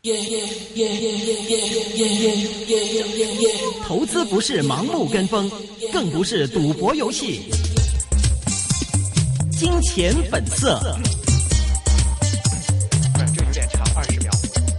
投資不是盲目跟風，更不是賭博遊戲。金錢本色。 這有點長，20秒。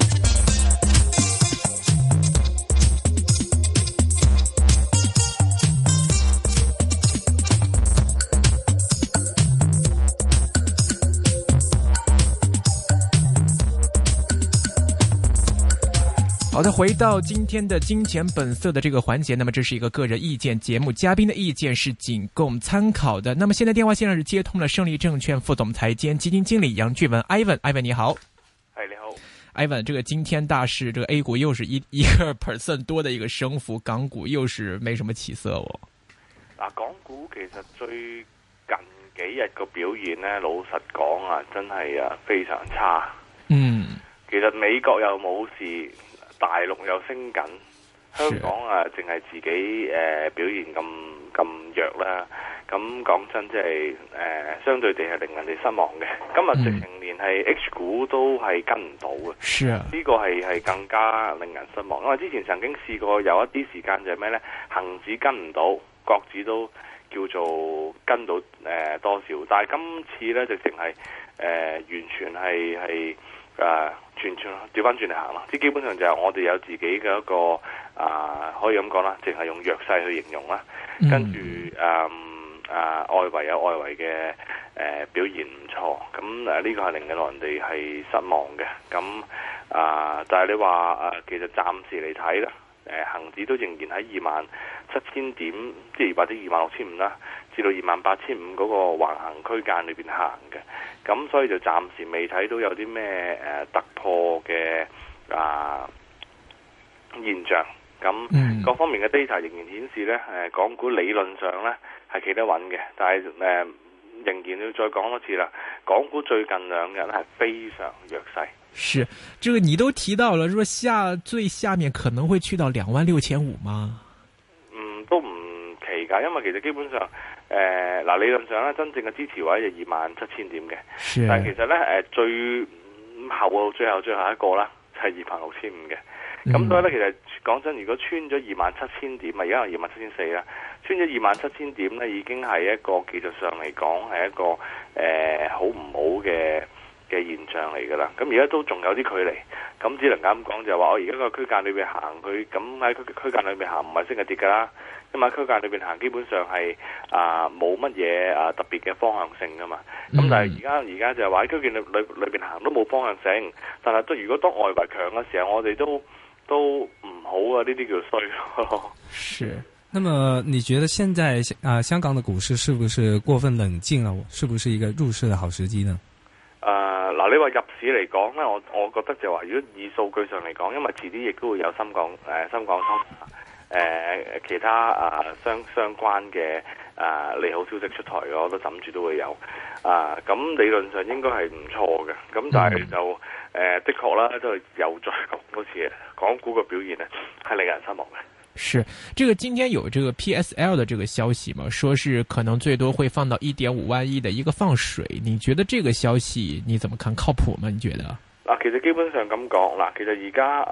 好的，回到今天的金錢本色的這個環節，那麼這是一個個人意見節目，嘉賓的意見是僅供參考的。那麼現在電話線上是接通了勝利證券副總裁兼基金經理楊俊文 Ivan 你好。 係你好 Ivan， 這個今天大市，這個 A 股又是一個 percent 多的一個升幅，港股又是沒什麼起色哦。 嗱，港股其實最近幾日個表現呢，老實講啊，真係非常差。其實美國又冇事。大陸又升緊，香港淨係自己表現咁弱啦。咁講真，即係相對地係令人哋失望嘅。今日直情連係 H 股都係跟唔到嘅。呢個係更加令人失望。因為之前曾經試過有一啲時間就係咩呢？恒指跟唔到，國指都叫做跟到多少。但係今次呢，直情係完全係全調翻轉嚟行啦，即基本上就係我哋有自己嘅一個可以咁講啦，淨係用弱勢去形容啦。跟住外圍有外圍嘅表現唔錯，咁呢個係令到人哋係失望嘅。咁但係你話其實暫時嚟睇啦，恒指都仍然喺27,000點，即係或者26,500啦，至到28,500嗰個橫行區間裏邊行嘅。咁所以就暫時未睇到有啲咩突破嘅現象。咁各方面嘅 data 仍然顯示呢，港股理論上呢係企得穩嘅，但係仍然要再講多次啦。港股最近2日係非常弱勢。 是，這個你都提到了，說最下面可能會去到26,500嗎？ 都唔奇㗎，因為其實基本上理論上咧，真正嘅支持位就27,000點嘅，但係其實咧最後一個啦，就係26,500嘅。咁所以咧，其實講真，如果穿咗27,000點，而家係27,400啦，穿咗27,000點咧，已經係一個技術上嚟講係一個好唔好嘅現象嚟㗎啦。咁而家都仲有啲距離，咁只能咁講就係話，我而家個區間裏邊行佢，咁喺區間裏邊行唔係升係跌㗎啦。咁喺區間裏邊行，基本上係冇乜嘢特別嘅方向性㗎嘛。咁但係而家就係話喺區間裏邊行都冇方向性，但係如果當外圍強嘅時候，我哋都唔好啊！呢啲叫衰咯。 是。那麼你覺得現在香港的股市是不是過分冷靜了？是不是一個入市的好時機呢？ 你話入市嚟講咧，我覺得就話，如果以數據上嚟講，因為遲啲亦都會有深港通其他相關嘅利好消息出台嘅，我都諗住都會有咁理論上應該係唔錯嘅。咁但係就的確啦，都係又再講多次，港股嘅表現呢係令人失望嘅。 是，這個今天有這個 PSL 的這個消息嘛，說是可能最多會放到1.5萬億的一個放水，你覺得這個消息你怎麼看？靠譜嗎？你覺得？ 其實基本上咁講，其實而家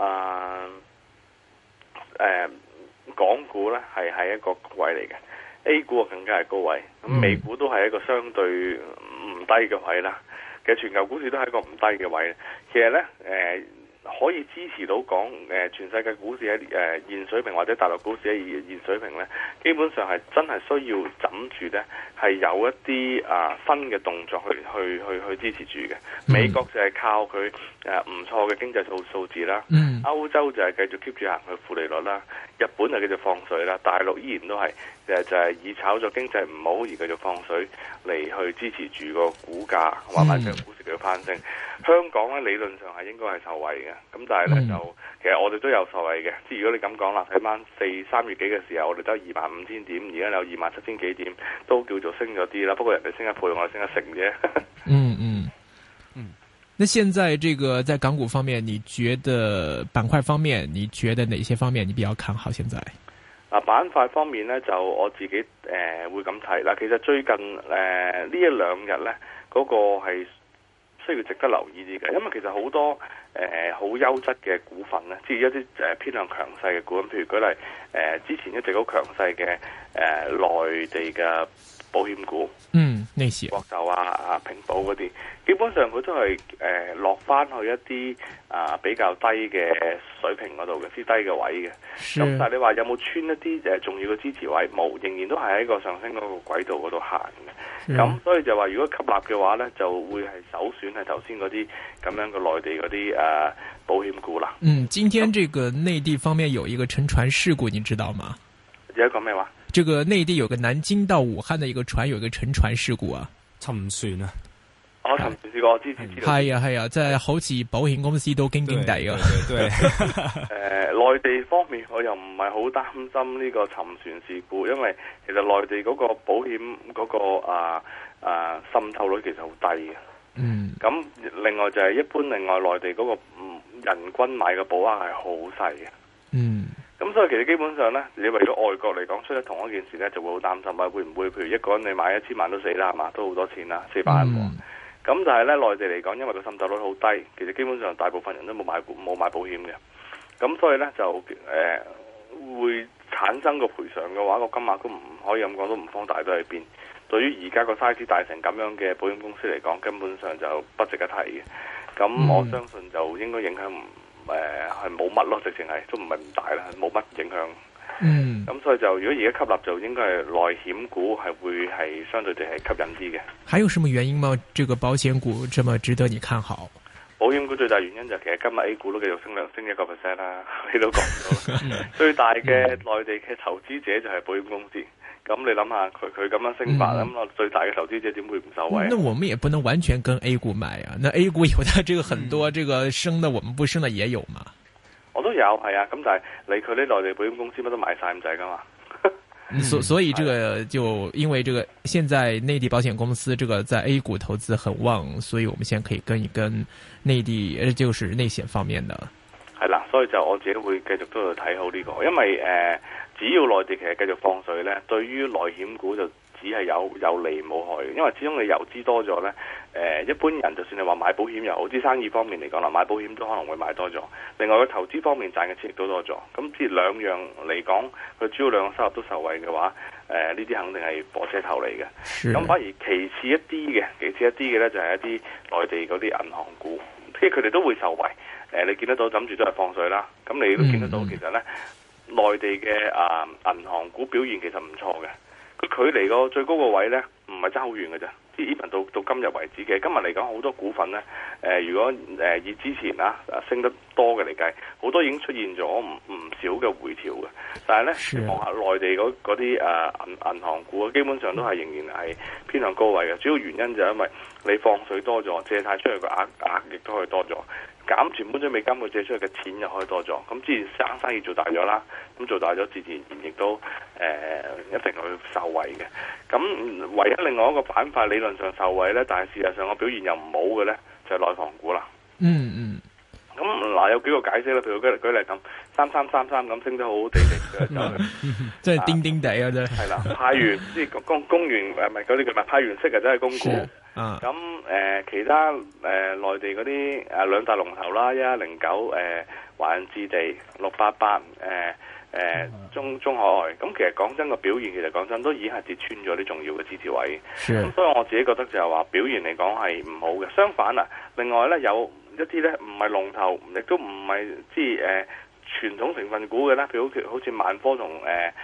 港股咧係一個位嚟嘅 ，A 股更加係高位，咁美股都係一個相對唔低嘅位啦。其實全球股市都係一個唔低嘅位。其實咧可以支持到講全世界股市喺現水平或者大陸股市喺現水平咧，基本上係真係需要枕住咧，係有一啲新嘅動作去支持住嘅。美國就係靠佢唔錯嘅經濟數字啦，歐洲就係繼續 keep 住行佢負利率啦，日本就繼續放水啦，大陸依然都係就係以炒作經濟唔好而繼續放水嚟去支持住個股價或者股市嘅翻升。香港咧理論上係應該係受惠嘅，咁但係咧就其實我哋都有受惠嘅。即係如果你咁講啦，睇翻3月幾嘅時候，我哋得25,000點，而家有27,000幾點，都叫做升咗啲啦。不過人哋升一倍，我哋升一成啫。 那現在這個在港股方面，你覺得板塊方面，你覺得哪些方面你比較看好？現在板塊方面咧，就我自己會咁睇啦。其實最近呢一兩日咧，嗰個係需要值得留意啲嘅，因為其實好多好優質嘅股份咧，即係一啲偏向強勢嘅股份，譬如舉例之前一直好強勢嘅內地嘅保險股， 呢時國壽啊、平保嗰啲，基本上佢都係落翻去一啲比較低嘅水平嗰度嘅，啲低嘅位嘅。咁但係你話有冇穿一啲重要嘅支持位？冇，仍然都係喺個上升嗰個軌道嗰度行嘅。咁所以就話如果吸納嘅話咧，就會係首選係頭先嗰啲咁樣嘅內地嗰啲保險股啦。 今天這個內地方面有一個沉船事故，你知道嗎？ 有一個咩話？ 這個內地有個南京到武漢的一個船有一個沉船事故啊， 沉船啊！ 我沉船試過，我之前知道。 係啊，即係好似保險公司都驚驚地啊。 對， 內地方面我又唔係好擔心呢個沉船事故，因為其實內地嗰個保險嗰個滲透率其實好低嘅。咁另外就係一般另外內地嗰個人均買嘅保額係好細嘅。咁所以其實基本上咧，你為咗外國嚟講出咗同一件事咧，就會好擔心啊！會唔會譬如一個人你買1000萬都死啦，係嘛？都好多錢啦，400萬喎。咁但係咧內地嚟講，因為個滲透率好低，其實基本上大部分人都冇買保險嘅。咁所以咧就會產生個賠償嘅話，個金額都唔可以咁講，都唔方大到去邊。對於而家個 size 大成咁樣嘅保險公司嚟講，根本上就不值一提嘅。咁我相信就應該影響係冇乜咯，直情係都唔係唔大啦，冇乜影響。咁所以就如果而家吸納就應該係內險股係會係相對地係吸引啲嘅。 還有什麼原因嗎？這個保險股這麼值得你看好？ 保險股最大原因就其實今日 A 股都繼續升1%啦，你都講咗。最大嘅內地嘅投資者就係保險公司。咁你諗下佢咁樣升法，咁最大嘅投資者點會唔受惠？ 那我們也不能完全跟 A 股買啊。那 A 股有的這個很多這個升的，我們不升的也有嘛。 我都有係啊，咁但係佢啲內地保險公司乜都買晒咁滯噶嘛。 所以這個就因為這個現在內地保險公司這個在 A 股投資很旺，所以我們現在可以跟一跟內地就是內險方面的。 係啦，所以就我自己會繼續都要睇好呢個，因為只要內地其實繼續放水咧，對於內險股就只係有利冇害嘅，因為始終你遊資多咗咧，一般人就算你話買保險又好，啲生意方面嚟講啦，買保險都可能會買多咗。另外個投資方面賺嘅錢亦都多咗，咁即係兩樣嚟講，佢主要兩個收入都受惠嘅話，呢啲肯定係火車頭嚟嘅。咁反而其次一啲嘅咧，就係一啲內地嗰啲銀行股，即係佢哋都會受惠。你見得到諗住都係放水啦，咁你都見得到其實咧，內地嘅銀行股表現其實唔錯嘅。佢距離個最高個位咧，唔係爭好遠嘅啫。即係 even 到今日為止嘅，今日嚟講好多股份咧，如果以之前升得多嘅嚟計，好多已經出現咗唔少嘅回調嘅。但係咧，你望下內地嗰啲銀行股，基本上都係仍然係偏向高位嘅。主要原因就係因為你放水多咗，借貸出去嘅額亦都可以多咗。減存本準備金佢借出去嘅錢又可以多咗，咁自然生意做大咗啦，咁做大咗自然亦都一定會受惠嘅。咁唯一另外一個板塊理論上受惠咧，但係事實上個表現又唔好嘅咧，就係內房股啦。咁嗱有幾個解釋啦，譬如舉例咁，3333咁升得好好地嘅就即係叮叮地啊！真係啦， 派完即係公完咪嗰啲叫咩？派完息啊，真係供股。咁其他內地嗰啲兩大龍頭啦，1109華潤置地688中海外，咁其實講真個表現，其實講真都已經係跌穿咗啲重要嘅支持位。咁所以我自己覺得就係話表現嚟講係唔好嘅。相反啊，另外咧有一啲咧唔係龍頭，亦都唔係即係傳統成分股嘅咧，譬如好似萬科同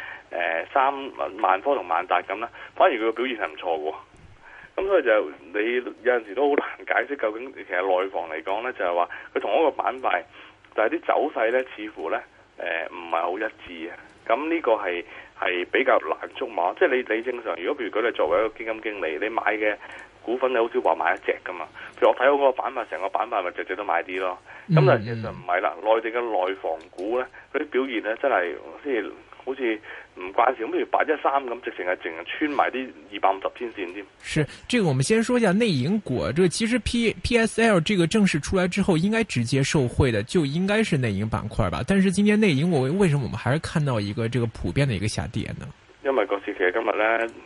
萬科同萬達咁啦，反而佢個表現係唔錯嘅。咁所以就你有陣時都好難解釋究竟其實內房嚟講咧，就係話佢同一個板塊，但係啲走勢咧似乎咧唔係好一致啊。咁呢個係比較難捉摸。即係你正常，如果譬如你作為一個基金經理，你買嘅股份你好少話買一隻噶嘛。譬如我睇好嗰個板塊，成個板塊咪隻都買啲咯。咁但係其實唔係啦，內地嘅內房股咧，嗰啲表現咧真係即係好似唔關事，咁譬如813咁，直情係淨係穿埋啲250天線添。 是，這個我們先說一下內銀股。這個其實 PSL 這個正式出來之後，應該直接受惠的就應該是內銀板塊吧。但是今天內銀，為什麼我們還是看到一個這個普遍的一個下跌呢？ 因為個市其實今日咧，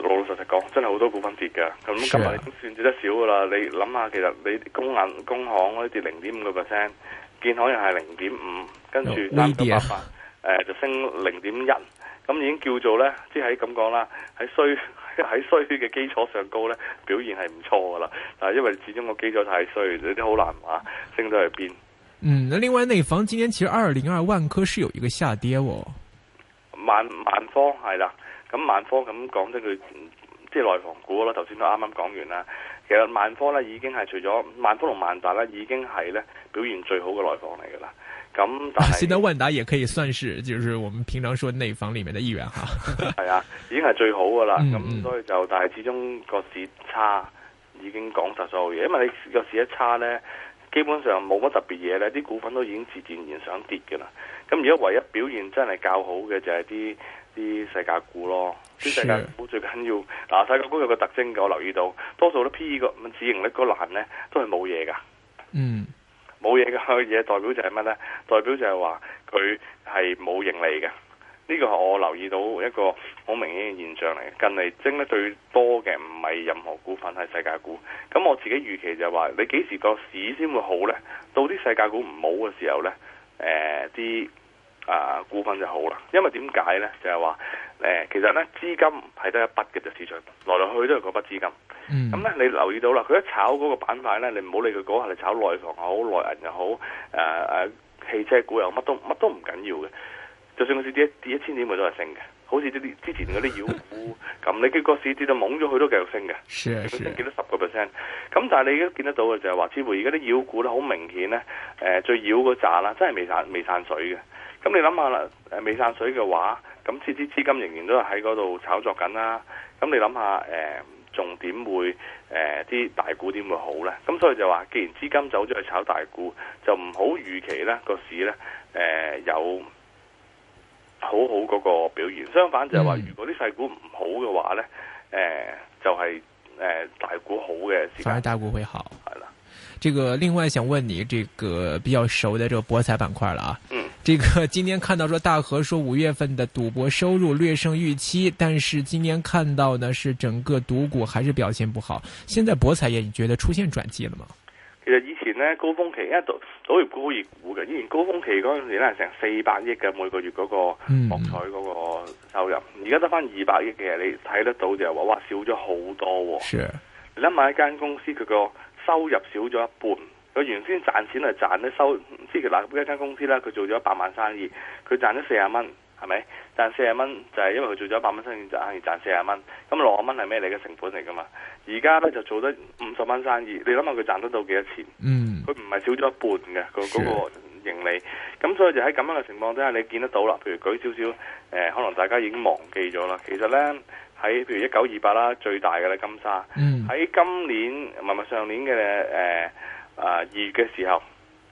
老實講，真係好多股份跌㗎。咁今日已經算跌得少噶啦。你諗下，其實你工行嗰啲跌0.5%，建行又係0.5%，跟住398就升0.1%，咁已經叫做咧，即係咁講啦，喺衰嘅基礎上高咧，表現係唔錯噶啦。但係因為始終個基礎太衰，你都好難話升到去邊。 那另外內房今年其實202萬科是有一個下跌喎。 萬科係啦，咁萬科咁講真佢即係內房股啦，頭先都啱啱講完啦。其實萬科咧已經係除咗萬科同萬達咧，已經係咧表現最好嘅內房嚟噶啦。咁但係現在萬達也可以算是，就是我們平常說內房裏面的一員哈。 係啊，已經係最好噶啦。咁所以就但係始終個市差已經講實所有嘢，因為你個市一差咧，基本上冇乜特別嘢咧，啲股份都已經自然想跌嘅啦。咁而家唯一表現真係較好嘅就係啲世界股咯。啲世界股最緊要嗱，世界股有個特徵嘅，我留意到多數都 P/E 個市盈率個欄咧都係冇嘢噶。冇嘢嘅嘢代表就係乜咧？代表就係話佢係冇盈利嘅。呢個係我留意到一個好明顯嘅現象嚟嘅。近嚟升得最多嘅唔係任何股份，係世界股。咁我自己預期就係話，你幾時個市先會好咧？到啲世界股唔好嘅時候咧，啲股份就好啦。因為點解咧？就係話其實咧資金係得一筆嘅，就市場來來去去都係嗰筆資金。咁咧你留意到啦，佢一炒嗰個板塊咧，你唔好理佢嗰下，你炒內房又好，內銀又好，汽車股又乜都唔緊要嘅。就算個市跌1000點，佢都係升嘅。好似之前嗰啲妖股咁，你個市跌到懵咗，佢都繼續升嘅。佢升幾多10%。咁但係你而家見得到嘅就係話，似乎而家啲妖股咧好明顯咧，最妖嗰扎啦，真係未散水嘅。咁你諗下啦，未散水嘅話，咁啲資金仍然都係喺嗰度炒作緊啦。咁你諗下，仲點會啲大股點會好咧？咁所以就話，既然資金走咗去炒大股，就唔好預期咧個市咧有好嗰個表現。相反就係話，如果啲細股唔好嘅話咧，就係大股好嘅時間。 反而大股會好。係啦。這個另外想問你，這個比較熟的這個博彩板塊了啊。這個今天看到說大和說5月份的賭博收入略勝預期，但是今天看到呢是整個賭股還是表現不好。現在博彩業你覺得出現轉機了嗎？ 其實以前呢，高峰期，因為賭業股好熱股嘅，以前高峰期嗰陣時咧成400億嘅每個月嗰個博彩嗰個收入，而家得翻200億嘅，你睇得到就係話哇少咗好多。 是， 你諗下一間公司佢個收入少咗一半。佢原先賺錢係賺咧即係嗱，一間公司啦，佢做咗100萬生意，佢賺咗40蚊，係咪？賺40蚊就係因為佢做咗100蚊生意，賺40蚊。咁60蚊係咩嚟嘅成本嚟噶嘛？而家咧就做得50蚊生意，你諗下佢賺得到幾多錢？佢唔係少咗一半嘅嗰個盈利。咁所以就喺咁樣嘅情況底下，你見得到啦。譬如舉少少可能大家已經忘記咗啦。其實咧喺譬如1928啦，最大嘅咧金沙，喺今年唔係上年嘅2月嘅時候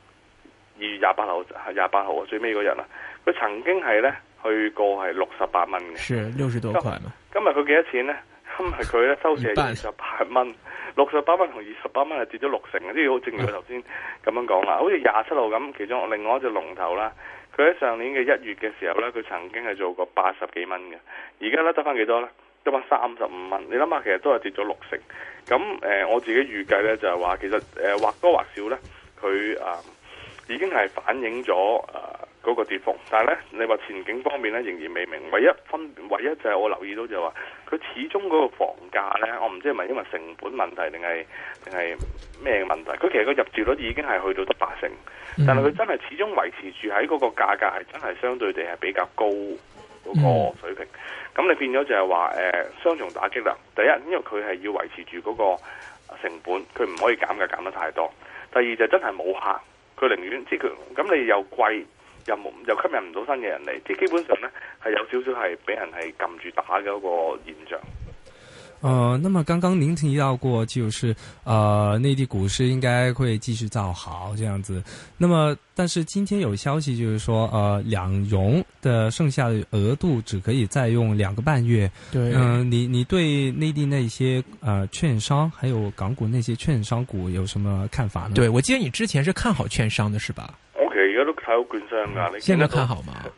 ，2月28號最尾嗰日啦，佢曾經係咧去過係68蚊嘅， 是60多塊嘛。 今日佢幾多錢咧？今日佢咧收市係28蚊，68蚊同28蚊係跌咗60成嘅，即係好正如佢頭先咁樣講啦。好似27號咁，其中另外一隻龍頭啦，佢喺上年嘅1月嘅時候咧，佢曾經係做過80幾蚊嘅，而家咧得翻幾多咧？得翻35蚊。你諗下，其實都係跌咗60成。咁我自己預計咧就係話，其實或多或少咧，佢已經係反映咗嗰個跌幅。但係咧，你話前景方面咧仍然未明。唯一就係我留意到就係話，佢始終嗰個房價咧，我唔知係咪因為成本問題定係咩問題。佢其實個入住率已經係去到得8成，但係佢真係始終維持住喺嗰個價格係真係相對地係比較高嗰個水平。咁你變咗就係話雙重打擊啦。第一，因為佢係要維持住嗰個成本，佢唔可以減價減得太多。第二就真係冇客，佢寧願即係佢咁你又貴又吸引唔到新嘅人嚟，即係基本上咧係有少少係俾人係撳住打嘅一個現象。 那麼剛剛您提到過，就是內地股市應該會繼續造好這樣子。那麼，但是今天有消息就是說，兩融的剩下的額度只可以再用2個半月。 對， 你對內地那些券商，還有港股那些券商股有什麼看法呢？ 對，我記得你之前是看好券商的，是吧？ 我其實而家都睇好券商噶。你現在看好嗎？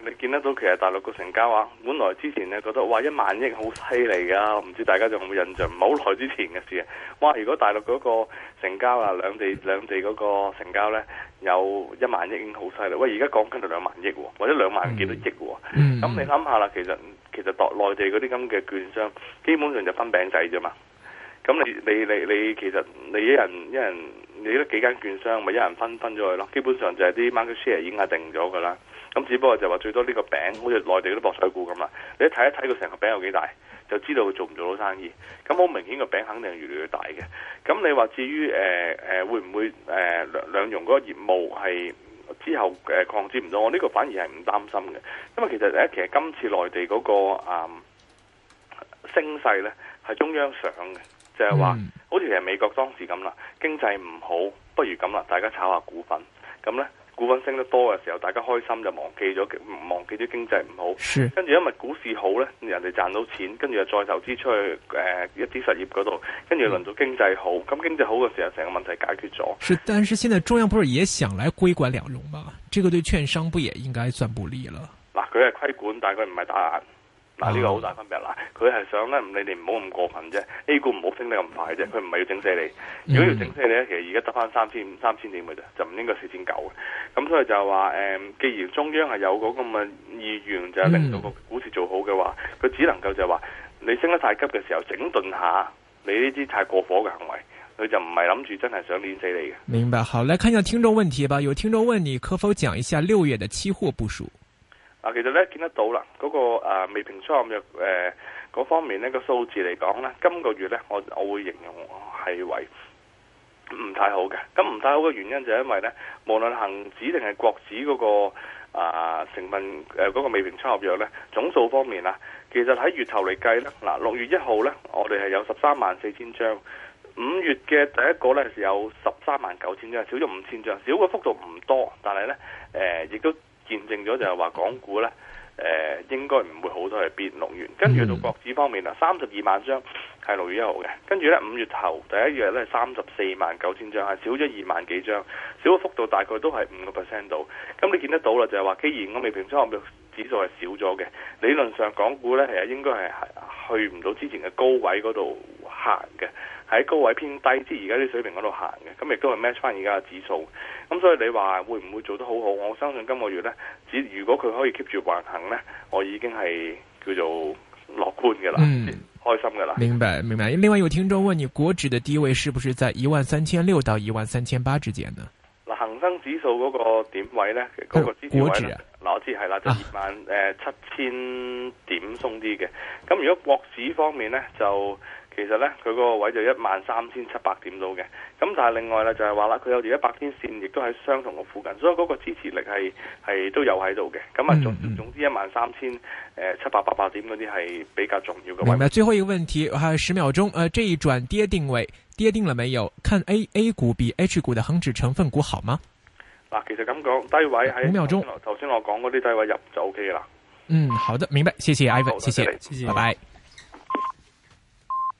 你見得到其實大陸個成交啊，本來之前咧覺得哇1萬億好犀利噶，唔知大家仲有冇印象？唔係好耐之前嘅事啊！哇，如果大陸嗰個成交啊，兩地嗰個成交咧有1萬億已經好犀利。喂，而家講緊就2萬億，或者2萬幾多億。咁你諗下啦，其實內地嗰啲咁嘅券商，基本上就分餅仔啫嘛。咁你其實你一人你得幾間券商，咪一人分咗去咯。基本上就係啲 market share 已經係定咗噶啦。咁只不過就話最多呢個餅，好似內地嗰啲博彩股咁啦。你一睇佢成個餅有幾大，就知道佢做唔做到生意。咁好明顯個餅肯定係越嚟越大嘅。咁你話至於會唔會兩融嗰個業務係之後擴展唔到？我呢個反而係唔擔心嘅，因為其實今次內地嗰個升勢咧係中央想嘅。就係話，好似其實美國當時咁啦，經濟唔好，不如咁啦，大家炒下股份，咁呢，股份升得多嘅時候，大家開心就忘記咗經濟唔好，跟住因為股市好呢，人哋賺到錢，跟住又再投資出去一啲實業嗰度，跟住輪到經濟好，咁經濟好嘅時候，成個問題解決咗。是， 但是現在中央不是也想來規管兩融嗎？這個對券商不也應該算不利了？ 嗱，佢係規管，但係佢唔係打壓。嗱，呢個好大分別啦，佢係想咧，你哋唔好咁過分啫。A 股唔好升得咁快啫，佢唔係要整死你。如果要整死你咧，其實而家得翻三千點嘅啫，就唔應該4900嘅。咁所以就係話既然中央係有嗰咁嘅意願，就係令到個股市做好嘅話，佢只能夠就係話你升得太急嘅時候，整頓下你呢啲太過火嘅行為，佢就唔係諗住真係想碾死你嘅。 明白，好，來看一下聽眾問題吧。有聽眾問你可否講一下6月的期貨部署？ 其實咧見得到啦，嗰個未平倉合約嗰方面呢個數字嚟講咧，今個月咧我會形容係為唔太好嘅。咁唔太好嘅原因就係因為咧，無論恒指定係國指嗰個成分嗰個未平倉合約咧，總數方面啦，其實喺月頭嚟計咧，嗱6月1號咧，我哋係有134000張，5月嘅第一個咧係有139,000張，少咗5000張，少嘅幅度唔多，但係咧亦都見證咗就係話港股咧，應該唔會好多係變6月，跟住到國指方面啦，32萬張係6月1號嘅，跟住咧5月頭第一日咧349000張，係少咗2萬幾張，少嘅幅度大概都係5% 度。咁你見得到啦，就係話既然我未平倉合約指數係少咗嘅，理論上港股咧係應該係去唔到之前嘅高位嗰度行嘅。喺高位偏低，即係而家啲水平嗰度行嘅，咁亦都係 match 翻而家嘅指數。咁所以你話會唔會做得好好？我相信今個月呢，如果佢可以 keep 住橫行呢，我已經係叫做樂觀嘅啦，開心嘅啦。明白。 另外有聽眾問你，國指嘅低位是不是在13600到13800之間呢？ 嗱，恒生指數嗰個點位呢，嗰個支持位呢，嗱我知係啦，就27000點鬆啲嘅。咁如果國指方面呢，就其實咧，佢嗰個位就13700點到嘅，咁但係另外咧就係話啦，佢有條100天線，亦都喺相同嘅附近，所以嗰個支持力係都有喺度嘅。咁啊，總之13700、800點嗰啲係比較重要嘅位。 明白。最後一個問題，還有10秒鐘。這一轉跌定位跌定了沒有？看 A 股比 H 股的恒指成分股好嗎？ 嗱，其實咁講，低位喺5秒鐘。頭先我講嗰啲低位入就 OK 啦。 好的，明白。謝謝 Ivan，謝謝，拜拜。